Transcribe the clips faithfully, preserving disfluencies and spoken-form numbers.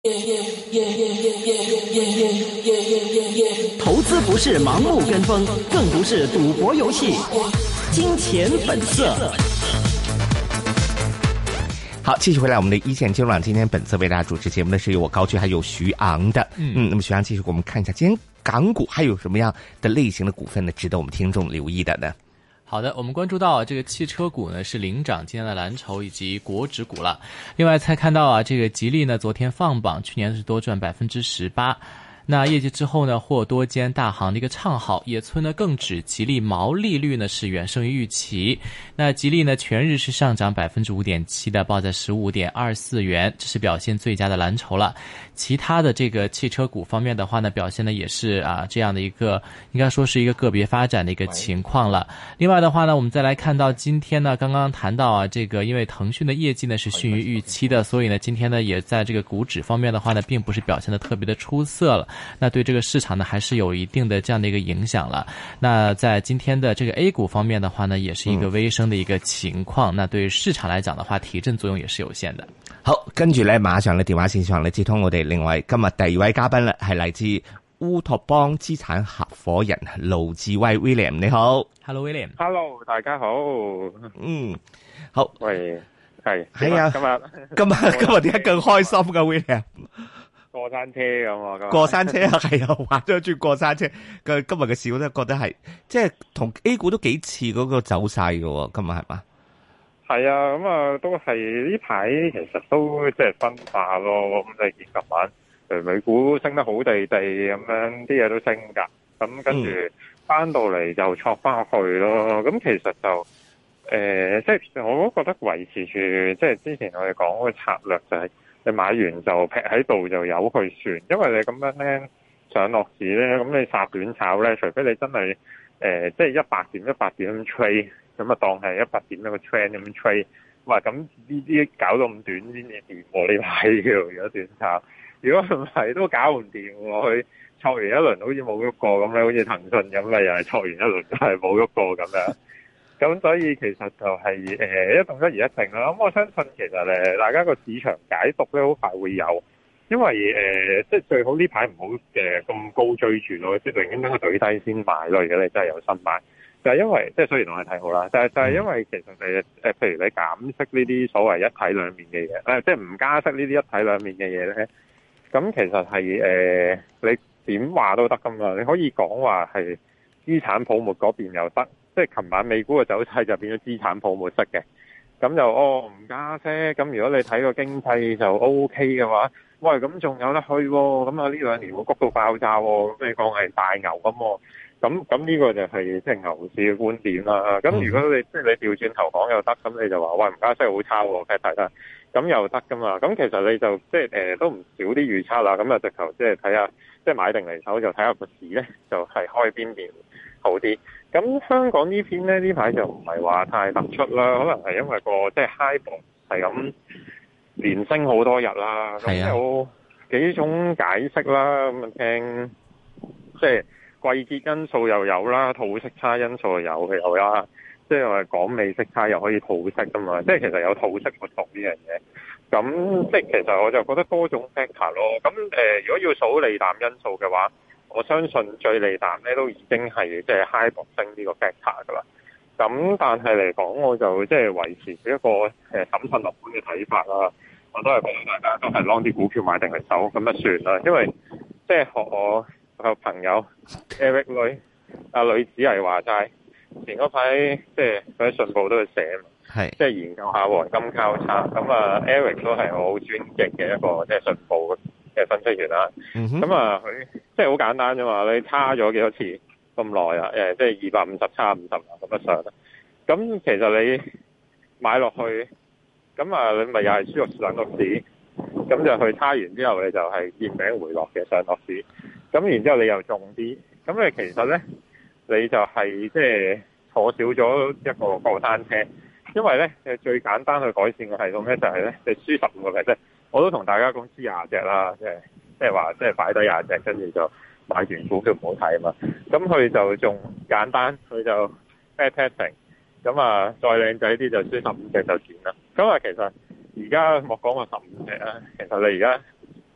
投资不是盲目跟风，更不是赌博游戏。金钱本色。 好，继续回来我们的一线金融网，今天本次为大家主持节目的是由我高居还有徐昂的。嗯嗯，那么徐昂继续给我们看一下今天港股还有什么样的类型的股份呢，值得我们听众留意的呢？ 好的，我们关注到这个汽车股呢是领涨今天的蓝筹以及国指股了。另外才看到啊，这个吉利呢昨天放榜，去年是多赚百分之十八。那业绩之后呢，获多间大行的一个唱好，野村呢更指吉利毛利率呢是远胜于预期。那吉利呢全日是上涨百分之五点七的，报在十五点二四元，这是表现最佳的蓝筹了。其他的这个汽车股方面的话呢，表现呢也是啊这样的一个，应该说是一个个别发展的一个情况了。另外的话呢，我们再来看到今天呢，刚刚谈到啊，这个因为腾讯的业绩呢是逊于预期的，所以呢今天呢也在这个股指方面的话呢，并不是表现的特别的出色了。那对这个市场呢还是有一定的这样的一个影响了。那在今天的这个 A 股方面的话呢，也是一个微升的一个情況，嗯、那對市場來講的話，提振作用也是有限的。 好，跟住咧，馬上咧電話線上咧接通我哋另外今日第二位嘉賓啦，係嚟自烏托邦資產合夥人盧志威 William， 你好 ，Hello William，Hello 大家好， 嗯，好， 喂，係係啊， 今日今日今日點解更開心噶 William？ 過山車咁啊！ 過山車啊，係啊，玩咗轉過山車。嘅今日嘅市我都覺得係，即係同 A 股都幾似嗰個走勢嘅喎。今日係嘛？ 係啊，咁啊都係呢排其實都即係分化咯。咁你見琴晚誒美股升得好地地咁樣，啲嘢都升㗎。咁跟住翻到嚟就挫翻去咯。咁其實就誒、呃，即係我都覺得維持住，即係之前我哋講嗰個策略就係、是。你買完就劈喺度就由佢算，因為你咁樣咧上落市咧，咁你殺短炒咧，除非你真係誒即係一百點一百點咁 trade，咁啊當係一百點一個 trend 咁 trade，哇咁呢啲搞到咁短先至掂喎，呢排嘅如果短炒，如果唔係都搞唔掂喎，佢挫完一輪好似冇喐過咁咧，好似騰訊咁啊，又係挫完一輪都係冇喐過咁樣。咁所以其實就係、是、誒、呃、一動一言一靜啦。咁我相信其實誒大家個市場解讀咧好快會有，因為誒、呃、即係最好呢排唔好誒咁高追住咯，即係寧願等佢懟低先買咯。如果你真係有心買，就係、是、因為即係雖然我係睇好啦，但係就係因為其實誒誒譬如你減息呢啲所謂一體兩面嘅嘢，誒即係唔加息呢啲一體兩面嘅嘢咧，咁其實係誒、呃、你點話都得噶嘛。你可以講話係資產泡沫嗰邊又得。即係琴晚美股嘅走勢就變咗資產泡沫式嘅，咁就哦唔加息，咁如果你睇個經濟就 O K 嘅話，喂咁仲有得去喎，咁啊呢兩年會谷到爆炸喎，咁你講係大牛咁喎，咁咁呢個就係即係牛市嘅觀點啦。咁如果你即係你調轉頭講又得，咁你就話喂唔加息好差喎，睇睇啦，咁又得噶嘛。咁其實你就即係誒都唔少啲預測啦，咁啊直頭即係睇下，即係買定離手就睇下個市咧，就係開邊邊好啲。咁香港呢篇咧呢排就唔係話太突出啦，可能係因為個即係 high 博係咁連升好多日啦，咁有幾種解釋啦，咁啊聽即係季節因素又有啦，套息差因素又有有啦，即係話港美息差又可以套息噶嘛，即係其實有套息活動呢樣嘢。咁即係其實我就覺得多種 factor 咯。咁誒、呃，如果要數利淡因素嘅話，我相信最利淡咧都已經係即係 high 博升呢個 factor 噶啦。咁但係嚟講，我就即係維持一個誒審慎樂觀嘅睇法啦。我都係覺得大家都係 long 啲股票買定嚟走，咁就算啦。因為即係學我個朋友 Eric 女阿女子係話齋，前嗰排即係佢喺信報都會寫嘛，係即係研究下黃金交叉。咁啊 Eric 都係我好尊敬嘅一個即係信報嘅分析員啦。咁啊佢即係好簡單啫嘛，你差咗幾多次咁耐啊？誒，即係二百五十差五十啊咁樣上啦。咁其實你買落去，咁啊你咪又係輸入上落市，咁就去差完之後你就係見頂回落嘅上落市。咁然之後你又重啲，咁你其實咧你就係即係坐少咗一個過山車，因為咧最簡單去改善個系統咧就係咧你輸十五個 percent。我都同大家講輸廿隻啦，即係即係話即係擺低廿隻，跟住就買完股票唔好睇啊嘛。咁佢就仲簡單，佢就 back testing， 咁啊再靚仔啲就輸十五隻就算啦。咁啊其實而家莫講話十五隻啊，其實你而家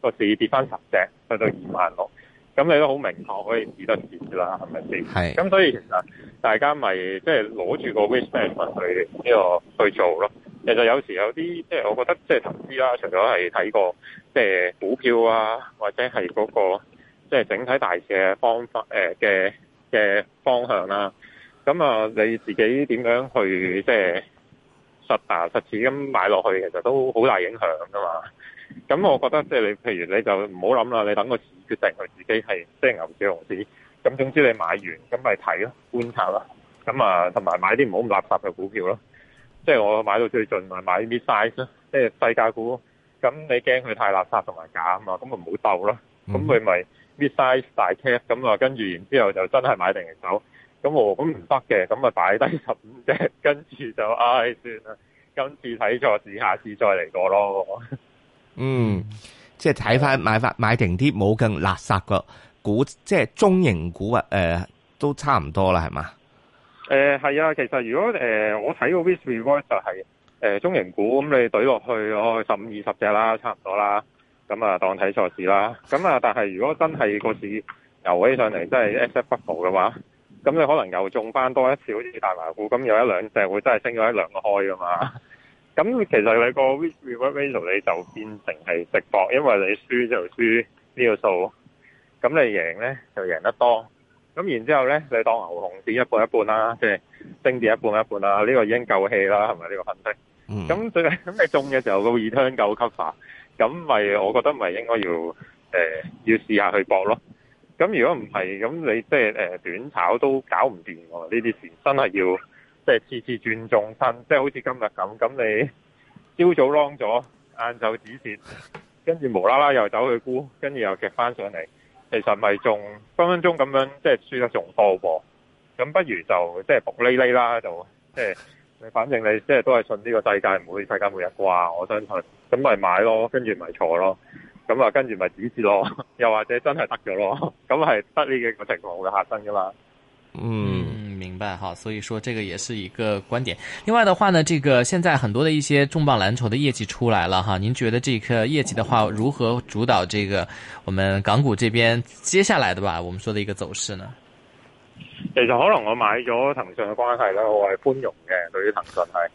個市跌翻十隻去到二萬六，咁你都好明確可以止得跌啦，係咪先？ 係。 咁所以其實大家咪即係攞住個 risk management 去呢、這個去做咯。其實有時有啲即係我覺得即係投資啦，除咗係睇個即係股票啊，或者係嗰、那個即係整體大市嘅方法誒嘅嘅方向啦。咁啊，你自己點樣去即係實打實似咁買落去，其實都好大影響噶嘛。咁我覺得即係你，譬如你就唔好諗啦，你等個市決定佢自己係即係牛市熊市。咁總之你買完咁咪睇咯，觀察咯。咁啊，同埋買啲唔好咁垃圾嘅股票咯。即係我買到最盡咪買 mid size 咯，即係細價股。咁你驚佢太垃圾同埋假啊嘛，咁咪唔好鬥咯。咁佢咪 mid size 大 cap，咁啊跟住然之後就真係買定嚟走。咁我咁唔得嘅，咁咪擺低十五隻，跟住就唉、哎、算啦。今次睇錯市，下次再嚟過咯。 嗯，即係睇翻買翻買定啲冇咁垃圾嘅股，即係中型股啊，誒、呃、都差唔多啦，係嘛？ 誒係啊，其實如果誒、呃、我睇個 risk reward 就係、是、誒、呃、中型股，咁你懟落去哦十五二十隻啦，差唔多啦。咁啊當睇錯市啦。咁啊，但係如果真係個市游起上嚟，真係 S F bubble 嘅話，咁你可能又中翻多一次，好似大麻股咁，有一兩隻會真係升咗一兩個開噶嘛。咁其實你個 risk reward ratio 你就變成係直博，因為你輸就輸呢個數，咁你贏咧就贏得多。咁然之後咧，你當牛熊市一半一半啦，即係升跌一半一半啦，呢個已經夠氣啦，係咪呢個分析？咁最咁你中嘅時候個 return 夠 cover，咁咪我覺得咪應該要誒、呃、要試下去搏咯。咁如果唔係，咁你即係誒短炒都搞唔掂喎。呢啲事真係要即係次次轉重身，即係好似今日咁。咁你朝早 long 咗，晏晝止蝕，跟住無啦啦又走去沽，跟住又夾翻上嚟，其實咪仲分分鐘咁樣，即係輸得仲多喎。咁不如就即係薄哩哩啦，就即係你反正你即係都係信呢個世界唔會世界末日啩，我相信。咁咪買咯，跟住咪錯咯。咁啊，跟住咪止蝕咯，又或者真係得咗咯，咁係得呢幾個情況會發生噶嘛。 嗯，明白哈，所以說這個也是一個觀點。另外的話呢，這個現在很多的一些重磅藍籌的業績出來了哈，您覺得這個業績的話，如何主導這個我們港股這邊接下來的吧，我們說的一個走勢呢？ 其實可能我買咗騰訊嘅關係啦，我係寬容嘅，對於騰訊係。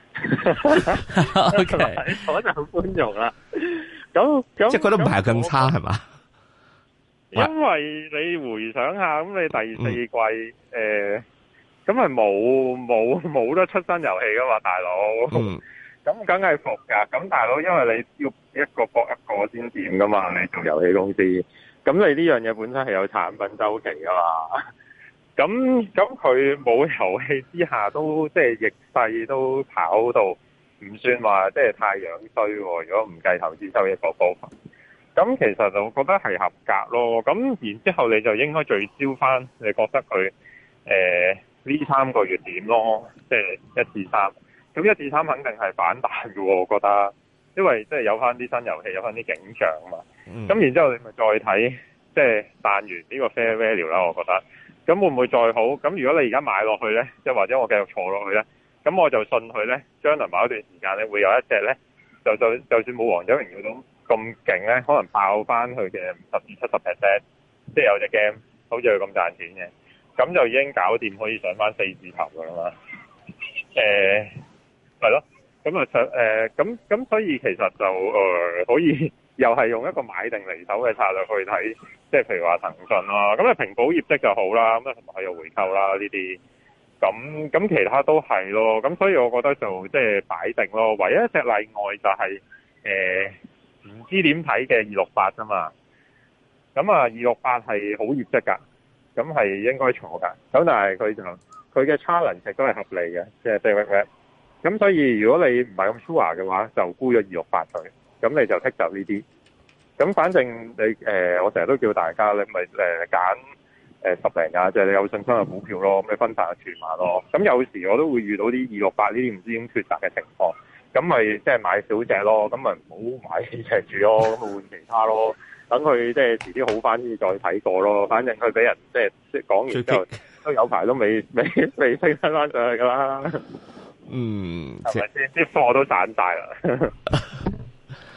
O K， 我就寬容啦。咁咁即係覺得唔係咁差係嘛？ 因為你回想下，咁你第四季誒，咁係冇冇冇得出新遊戲噶嘛，大佬。嗯。咁梗係服噶。咁大佬，因為你要一個搏一個先掂噶嘛，你做遊戲公司。咁你呢樣嘢本身係有產品周期噶嘛。咁咁佢冇遊戲之下都即係逆勢都跑到唔算話即係太樣衰喎。如果唔計投資收益嗰部分，咁其實就覺得係合格咯。咁然之後你就應該聚焦翻，你覺得佢誒呢三個月點咯？即係一至三。咁一至三肯定係反彈嘅喎，我覺得，因為即係有翻啲新遊戲，有翻啲景象啊嘛。咁、嗯、然之後你咪再睇，即係彈完呢個 fair value 啦，我覺得。咁會唔會再好？咁如果你而家買落去咧，即係或者我繼續坐落去咧，咁我就信佢咧，將來某一段時間咧會有一隻咧，就就就算冇王者榮耀都咁勁咧，可能爆翻佢嘅五十至七十 percent， 即係有隻 game 好似佢咁賺錢嘅，咁就已經搞掂，可以上翻四字頭噶啦嘛。誒係咯，咁啊上誒咁咁，所以其實就誒、呃、可以又係用一個買定離手嘅策略去睇。即係譬如話騰訊啦，咁啊平保業績就好啦，咁啊同埋有回購啦呢啲，咁咁其他都係咯，咁所以我覺得就即係擺定咯。唯一一隻例外就係誒唔知點睇嘅二六八啫嘛，咁啊二六八係好業績㗎，咁係應該坐㗎，咁但係佢就佢嘅 challenge 都係合理嘅，即係 David，咁所以如果你唔係咁 sure 嘅話，就沽咗二六八佢，咁你就剔走呢啲。咁反正你誒、呃，我成日都叫大家你咪誒揀誒十零廿隻你有信心嘅股票咯，咁你分散下注碼咯。咁有時我都會遇到啲二六八呢啲唔知點抉擇嘅情況，咁咪即係買少隻咯，咁咪唔好買幾隻住咯，咁咪換其他咯。等佢即係遲啲好翻先再睇過咯。反正佢俾人即係即係講完之後都有排都未未未升翻翻上去噶啦。 嗯， 係咪先？啲貨都散晒啦。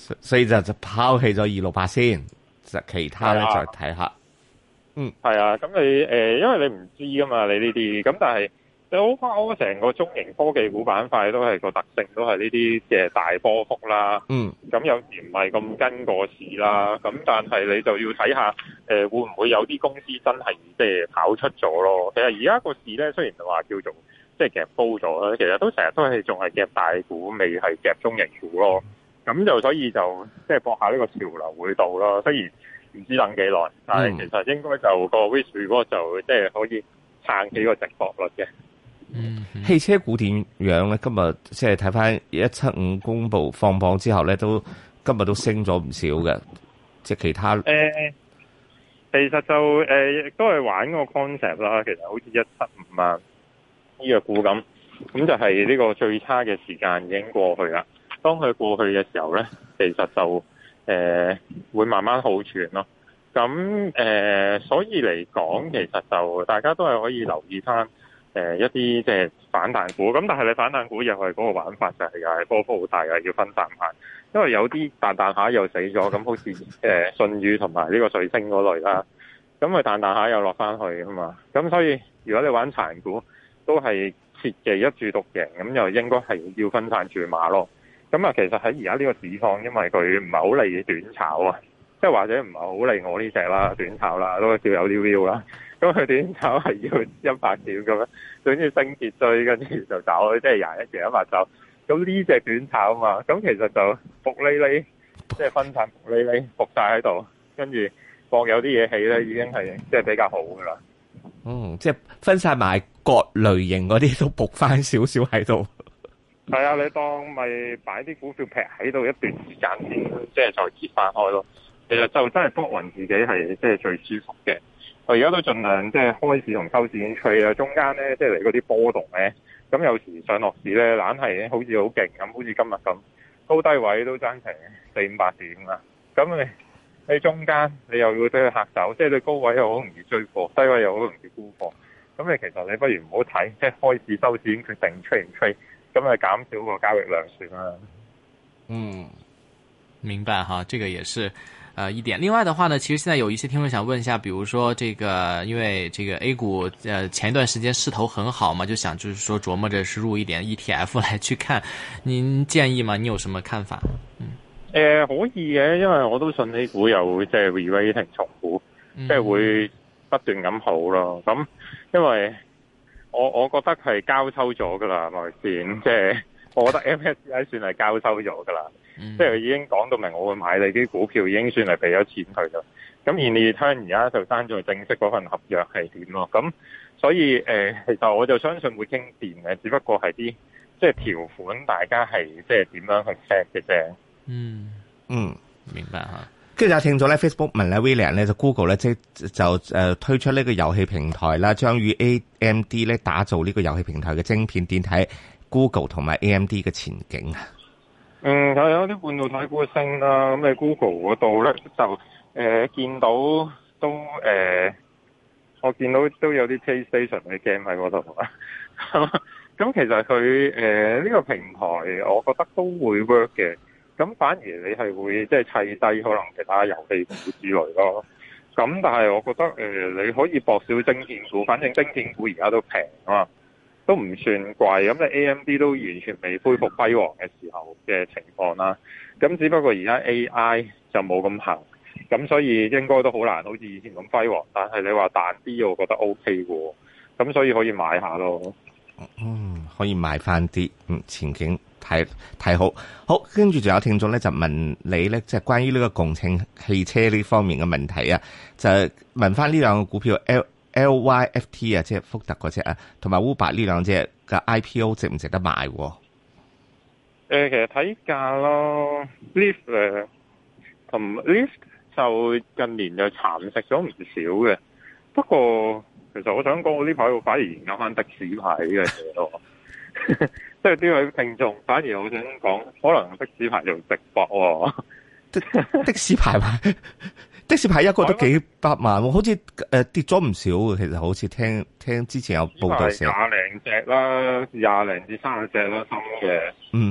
所以就就拋棄咗二六八先，就其他咧再睇下。嗯， 係啊，咁你誒、呃，因為你唔知噶嘛，你呢啲，咁但係你好拋成個中型科技股板塊都係個特性，都係呢啲嘅大波幅啦。 嗯， 咁有時唔係咁跟個市啦，咁但係你就要睇下誒、呃，會唔會有啲公司真係即係跑出咗咯？其實而家個市咧，雖然話叫做即係夾高咗啦，其實都成日都係仲係夾大股，未係夾中型股咯。咁就所以就即係搏下呢個潮流會到咯。雖然唔知等幾耐，但係其實應該就個 risk reward 就即係可以撐起個值博率嘅。 嗯，汽車股點樣咧？今日即係睇翻一七五公布放榜之後咧，都今日都升咗唔少嘅。即係其他誒、 呃，其實就誒亦都係玩個 concept 啦。其實好似一七五啊呢個股咁，咁就係呢個最差嘅時間已經過去啦。當佢過去嘅時候咧，其實就誒、呃、會慢慢好轉咯。咁誒、呃，所以嚟講，其實就大家都係可以留意翻誒、呃、一啲即係反彈股。咁但係你反彈股又係嗰個玩法就係又係波幅好大嘅，要分散下。因為有啲彈彈下又死咗，咁好似誒舜宇同埋呢個瑞星嗰類啦。咁佢彈彈下又落翻去啊嘛。咁所以如果你玩殘股，都係切忌一注獨贏，咁又應該係要分散住碼咯。咁啊，其實喺而家呢個市況，因為佢唔係好利短炒啊，即係或者唔係好利我呢隻啦，短炒啦，都叫有啲 view 啦。咁佢短炒係要一百點咁樣，總之升跌追，跟住就走，即係廿一贏一百走。咁呢隻短炒啊嘛，咁其實就伏哩哩，即係分散伏哩哩，伏晒喺度，跟住博有啲嘢起咧，已經係即係比較好噶啦。 嗯，即係分散埋各類型嗰啲都搏翻少少喺度。 係啊，你當咪擺啲股票劈喺度一段時間先，即係再揭翻開咯。其實就真係搏勻自己係即係最舒服嘅。我而家都盡量即係開市同收市已經吹啦，中間咧即係嚟嗰啲波動咧，咁有時上落市咧，懶係好似好勁咁，好似今日咁，高低位都爭成四五百點啦。咁你喺中間你又要俾佢嚇走，即係你高位又好容易追貨，低位又好容易沽貨。咁你其實你不如唔好睇，即係開市收市已經決定吹唔吹。咁咪減少個交易量算啦。 嗯， 明白哈，這個也是，呃，一點。另外的話呢，其實現在有一些聽眾想問一下，比如說這個，因為這個 A 股，呃，前一段時間勢頭很好嘛，就想就是說琢磨着是入一點 E T F 來去看，您建議嗎？你有什麼看法？嗯， 誒、呃，可以嘅，因為我都信 A 股有即係 re-rating 重估，即係會不斷咁好咯。咁因為我我覺得係交抽咗噶啦，係咪先？即係我覺得 M S C I 算係交抽咗噶啦，即係已經講到明我會買你啲股票，已經算係俾咗錢佢啦。咁而你睇而家就爭在正式嗰份合約係點咯？咁所以誒、呃，其實我就相信會傾掂嘅，只不過係啲即係條款，大家係即係點樣去 set 嘅啫。 嗯嗯， 明白哈。 跟住有聽咗咧 Facebook 問咧 William 咧就 Google 咧即就誒、呃、推出呢個遊戲平台啦，將與 A M D 咧打造呢個遊戲平台嘅晶片，點睇 Google 同埋 A M D 嘅前景啊？ 嗯，係有啲半導體股升啦，咁你 Google 嗰度咧就誒、呃、見到都誒、呃，我見到都有啲 PlayStation 嘅 game 喺嗰度啊。咁其實佢誒呢個平台，我覺得都會 work 嘅。咁反而你係會即係砌低可能其他遊戲股之類咯。咁但係我覺得誒、呃、你可以博少晶片股，反正晶片股而家都平啊嘛，都唔算貴。咁你 A M D 都完全未恢復輝煌嘅時候嘅情況啦。咁只不過而家 A I 就冇咁行，咁所以應該都好難好似以前咁輝煌。但係你話彈啲，我覺得 O K 喎。咁所以可以買下咯。 嗯，可以買翻啲，嗯，前景睇睇好。好，跟住仲有聽眾咧就問你咧，即係關於呢個共乘汽車呢方面嘅問題啊，就問翻呢兩個股票 L L Y F T 啊，即係福特嗰隻啊，同埋 Uber 呢兩隻嘅 I P O 值唔值得買？誒、 呃，其實睇價咯 ，Lyft 誒，同 Lyft 就近年就蠶食咗唔少嘅，不過。其實我想講，我呢排我反而研究翻的士牌呢樣嘢咯，即係呢位聽眾反而我想講，可能的士牌就直博喎。 的士牌牌，的士牌一個都幾百萬，好似誒、呃、跌咗唔少嘅。其實好似聽聽之前有報道時候， 廿零隻啦，廿零至三十隻啦，新嘅。 嗯，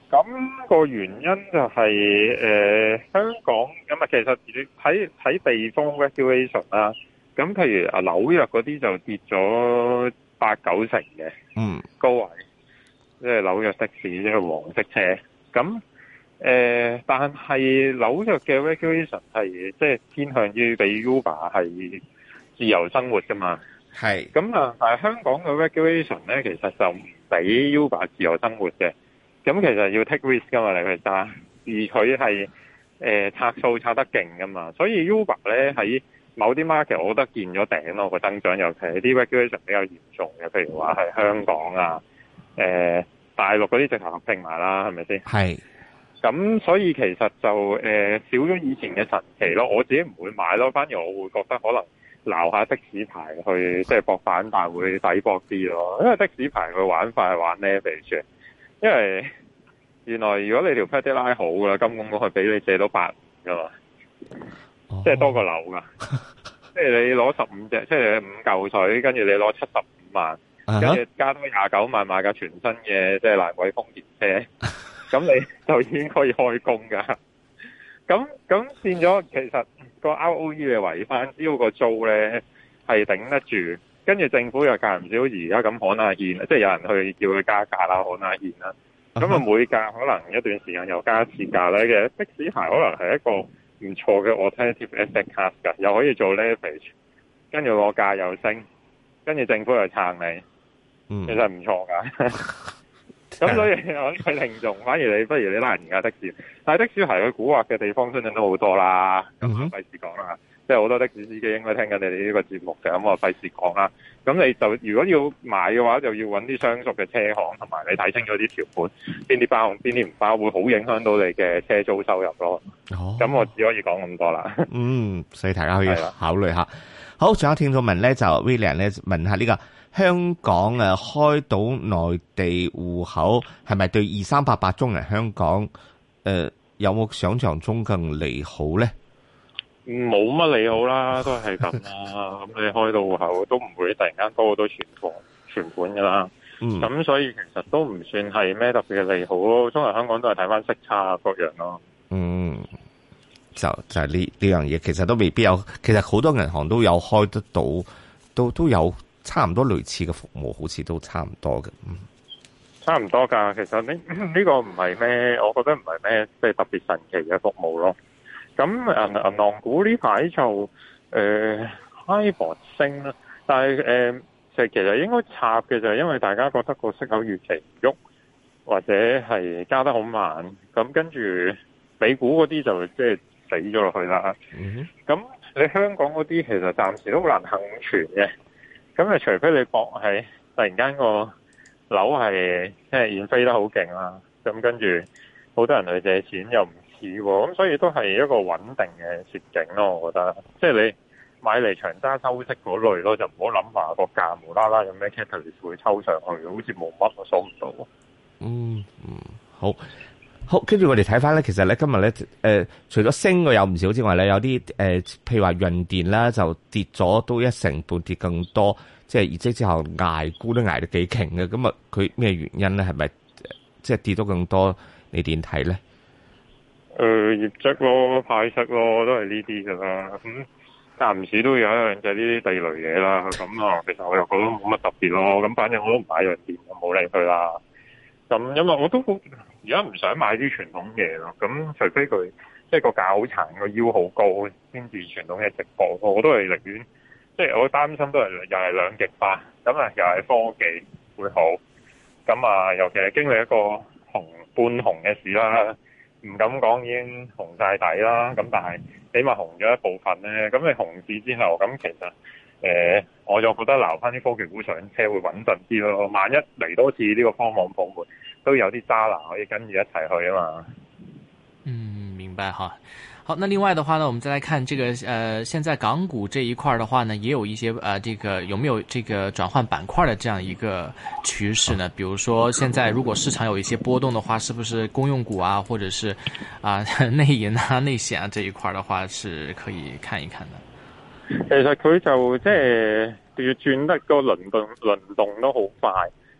咁個原因就係、是、誒、呃、香港咁啊，其實睇睇地方 regulation 啦。咁譬如啊紐約嗰啲就跌咗八九成嘅， 嗯， 高位，即係紐約的士即係黃色車。咁誒、呃，但係紐約嘅 regulation 係即係偏向於俾 Uber 係自由生活噶嘛。係。咁啊，但係香港嘅 regulation 咧，其實就唔俾 Uber 自由生活嘅。咁其實要 take risk 噶嘛，你去揸，而佢係誒拆數拆得勁噶嘛，所以 Uber 咧喺某啲 market 我覺得見咗頂咯，個增長，尤其係啲 regulation 比較嚴重嘅，譬如話係香港啊、誒、呃、大陸嗰啲直頭合併埋啦，係咪先？係。咁所以其實就誒、呃、少咗以前嘅神奇咯，我自己唔會買咯，反而我會覺得可能撈下的士牌去即係搏反彈會抵搏啲咯，因為的士牌佢玩法係玩 leverage。因為原來如果你條 credit line 好噶啦，金管局係俾你借到八噶嘛，即係多過樓噶，即係你攞十五隻，即係五嚿水，跟住你攞七十五萬，跟住加多廿九萬買架全新嘅即係蘭桂豐田車，咁你就已經可以開工噶。咁咁變咗，其實個 R O E 你圍翻，只要個租咧係頂得住。跟住政府又間唔少而家咁可能現，即係有人去叫佢加價啦，可能現啦。咁啊每價可能一段時間又加一次價咧嘅的士牌，可能係一個唔錯嘅 alternative asset class 㗎，又可以做 leverage，跟住個價又升，跟住政府又撐你，嗯、其實唔錯㗎。咁所以我佢聽眾，反而你不如你拉人而家的士，但係的士牌佢蠱惑嘅地方相信都好多啦，咁費事講啦。即係好多的士司機應該聽緊你哋呢個節目嘅，咁我費事講啦。咁你就如果要買嘅話，就要揾啲相熟嘅車行，同埋你睇清楚啲條款，邊啲包，邊啲唔包，會好影響到你嘅車租收入咯。哦，咁我只可以講咁多啦。嗯， 所以大家可以考慮下。好，仲有聽眾問咧，就 William 咧問下呢個香港誒開到內地戶口係咪對二三八八中人香港誒、呃、有冇想象中更利好咧？ 冇乜利好啦，都係咁啦。咁你開到戶口都唔會突然間多好多存款存款噶啦。咁、嗯、所以其實都唔算係咩特別嘅利好咯。中國香港都係睇翻息差各樣咯。嗯， 就就係呢呢樣嘢，其實都未必有。其實好多銀行都有開得到，都都有差唔多類似嘅服務，好似都差唔多嘅。嗯， 差唔多噶。其實呢呢、這個唔係咩，我覺得唔係咩即係特別神奇嘅服務咯。咁銀銀行股呢排就誒 HIBOR 升啦，但係誒就其實應該插嘅就係因為大家覺得個息口預期唔喐，或者係加得好慢，咁跟住美股嗰啲就即係死咗落去啦。咁、mm-hmm. 你香港嗰啲其實暫時都好難幸存嘅，咁啊除非你博係突然間個樓係即係現飛得好勁啦，咁跟住好多人去借錢又唔咁所以都係一個穩定嘅設景咯，我覺得。即係你買嚟長揸收息嗰類咯，就唔好諗話個價無啦啦有咩 catalyst 會抽上去，好似冇乜我數唔到。 嗯嗯，好，好，跟住我哋睇翻咧，其實咧今日咧誒，除咗升嘅有唔少之外咧，有啲誒、呃，譬如話潤電啦，就跌咗都一成半，跌更多。即係業績之後捱沽都捱得幾勁嘅，咁啊佢咩原因咧？係咪即係跌到更多？你點睇咧？ 誒、呃，業績咯，派息咯，都係呢啲噶啦。咁間唔時都有一樣就係呢啲地雷嘢啦。咁啊，其實我又覺得冇乜特別咯。咁反正我都唔買潤電，冇理佢啦。咁因為我都而家唔想買啲傳統嘢咯。咁除非佢即係個價好殘，個腰好高，先至傳統嘅直播。我都係寧願，即係我擔心都係又係兩極化。咁啊，又係科技會好。咁啊，尤其係經歷一個紅半紅嘅市啦。唔敢講已經紅晒底啦，咁但係起碼紅咗一部分咧。咁你紅市之後，咁其實誒、呃，我就覺得留翻啲科技股上車會穩陣啲咯。萬一嚟多次呢個科網泡沫，都有啲渣拿可以跟住一齊去啊嘛。 嗯，明白哈。好，那另外的話呢，我們再來看這個，呃，現在港股這一塊的話呢，也有一些，呃，這個有沒有這個轉換板塊的這樣一個趨勢呢？比如說，現在如果市場有一些波動的話，是不是公用股啊，或者是啊、呃、內銀啊、內險啊這一塊的話，是可以看一看的。 其實佢就即係要轉得個輪動輪動都好快，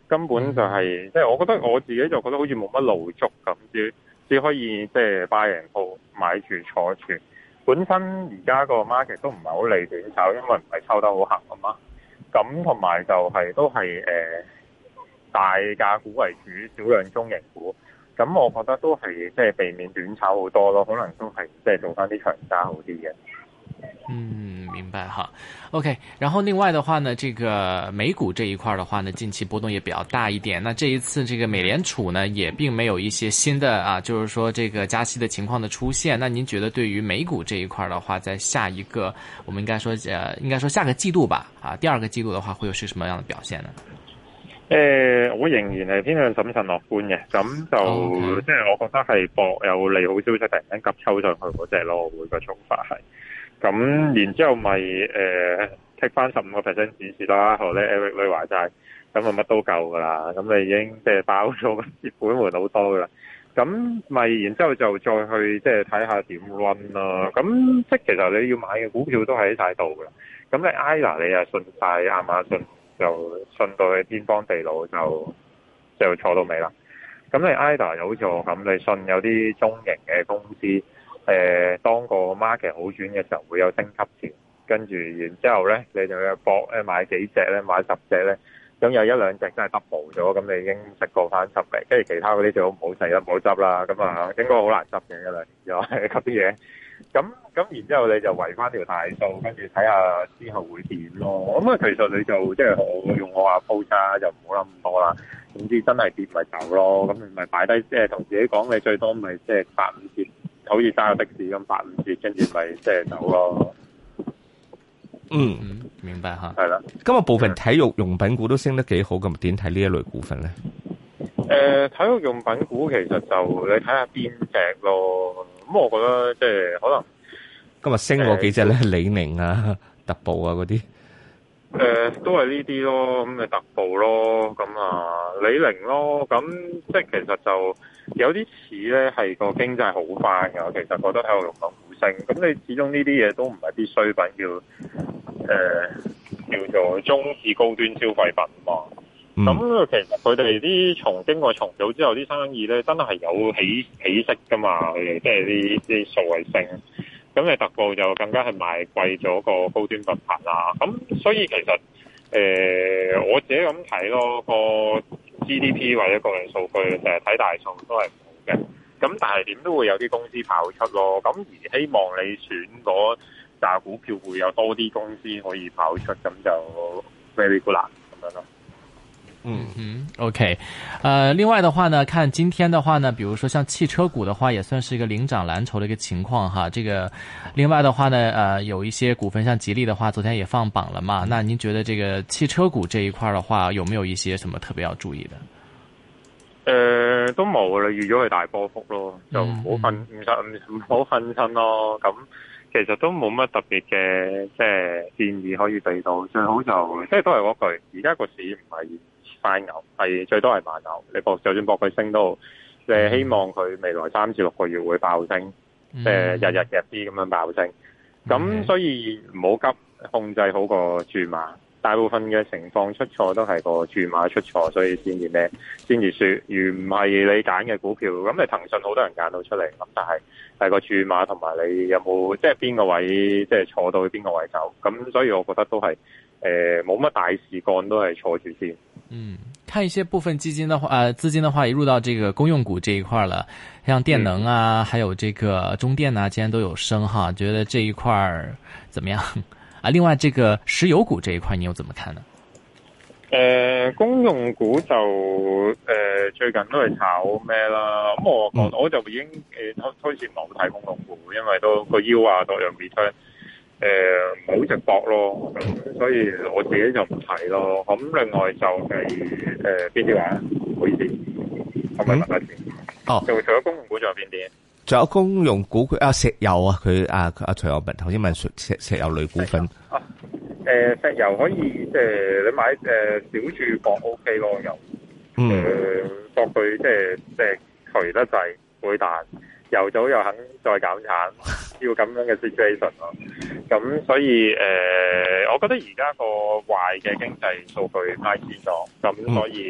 根本就係、是、即係我覺得我自己就覺得好似冇乜路捉咁，只只可以即係 buy and hold 買住坐住。本身而家個 market 都唔係好利短炒，因為唔係抽得好行啊嘛。咁同埋就係、是、都係誒、呃、大價股為主，少量中型股。咁我覺得都係即係避免短炒好多咯，可能都係即係做翻啲長揸好啲嘅。 嗯，明白哈。OK， 然後另外的話呢，這個美股這一塊的話呢，近期波動也比較大一點。那這一次這個美聯儲呢，也並沒有一些新的啊，就是說這個加息的情況的出現。那您覺得對於美股這一塊的話，在下一個我們應該說呃，應該說下個季度吧，啊，第二個季度的話，會有是什麼樣的表現呢？ 誒、呃，我仍然係偏向審慎樂觀嘅，咁就、okay. 即係我覺得係博有利好消息突然間急抽上去嗰隻咯，我會個做法係。咁然之後咪誒 take 翻十五個 percent 指示啦，學咧 Eric 女話齋，咁啊乜都夠噶啦，咁你已經即係包咗個蝕本門好多噶啦。咁咪然之後就再去即係睇下點 run 啦。咁即係其實你要買嘅股票都喺晒度噶啦。咁你 I L A 你又信晒亞馬遜。就信到去天荒地老，就就坐到尾啦。咁你 I D A 又好似我咁，你信有啲中型嘅公司，誒、呃、當個 market 好轉嘅時候會有升級潮，跟住然之後咧，你就要搏誒買幾隻咧，買十隻咧，咁有一兩隻真係 double 咗，咁你已經食過翻十嚟，跟住其他嗰啲最好唔好使啦，唔好執啦。咁啊，應該好難執嘅一兩年又係嗰啲嘢。咁咁然之後你就圍翻條大數，跟住睇下之後會點咯。咁啊，其實你就即係我用我話鋪差就唔好諗咁多啦。總之真係跌咪走咯。咁你咪擺低，即係同自己講，你最多咪即係八五折，好似揸個的士咁八五折，跟住咪即係走咯。 嗯， 明白吓。 係啦。 今日部分體育用品股都升得幾好，咁點睇呢一類股份咧？ 誒、呃，體育用品股其實就你睇下邊隻咯。咁我覺得即係可能今日升嗰幾隻咧，李寧啊、特步啊嗰啲， 誒都係呢啲咯，咁咪特步咯，咁啊李寧咯，咁即係其實就有啲似咧係個經濟好翻㗎。我其實覺得體育用品股升，咁你始終呢啲嘢都唔係必需品，叫誒、呃、叫做中至高端消費品嘛。咁、嗯、其實佢哋啲重經過重組之後啲生意咧，真係有起起色噶嘛，佢哋即係啲啲數位升。咁你特步就更加係賣貴咗個高端品牌啦。咁所以其實誒、呃、我自己咁睇咯，個 G D P 或者個人數據成日睇大數都係唔好嘅。咁但係點都會有啲公司跑出咯。咁而希望你選嗰紮股票會有多啲公司可以跑出，咁就 very good 啦咁樣咯。 嗯嗯 ，OK， 呃，另外的話呢，看今天的話呢，比如說像汽車股的話，也算是一個領漲藍籌的一個情況哈。這個，另外的話呢，呃，有一些股份，像吉利的話，昨天也放榜了嘛。那您覺得這個汽車股這一塊的話，有沒有一些什麼特別要注意的？ 誒、呃，都冇啦，預咗係大波幅咯，就唔好瞓，唔使唔好瞓親咯。咁其實都冇乜特別嘅，即係建議可以俾到。最好就即係都係嗰句，而家個市唔係快牛，係最多係慢牛。你博就算博佢升都好，即係希望佢未來三至六個月會爆升，即係日日日啲咁樣爆升。咁所以唔好急，控制好個注碼。大部分嘅情況出錯都係個注碼出錯，所以先至咩，先至輸。如唔係你揀嘅股票，咁你騰訊好多人揀到出嚟，咁但係係個注碼同埋你有冇即係邊個位，即係坐到去邊個位走。咁所以我覺得都係誒冇乜大事幹，都係坐住先。 嗯，看一些部分基金的話，呃，資金的話也入到這個公用股這一塊了，像電能啊，嗯、還有這個中電啊，今天都有升哈，覺得這一塊怎麼樣？啊，另外這個石油股這一塊你又怎麼看呢？ 誒、呃，公用股就誒、呃、最近都係炒咩啦？咁我我我就已經誒開始唔係好睇公用股，因為都個腰啊各樣 return 誒唔係好直搏咯，咁所以我自己就唔睇咯。咁另外就係誒邊啲話？唔好意思，可唔可以問一次？哦，就除咗公用股仲有邊啲？ 仲有公用股佢啊，石油啊，佢啊阿徐友文頭先問石石油類股份啊，誒、呃、石油可以即係你買誒、呃、小注博 O K 咯，又誒博佢即係即係除得滯會彈，油早又肯再減產，要咁樣嘅 situation 咯。咁所以誒、呃，我覺得而家個壞嘅經濟數據派先咗，咁所以。嗯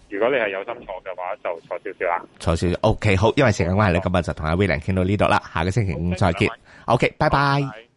如果你係有心坐嘅話，就坐少少啦。 坐少少 ，OK， 好，因為時間關係咧，今日就同阿 William 傾到呢度啦，下個星期五再見。OK，拜拜。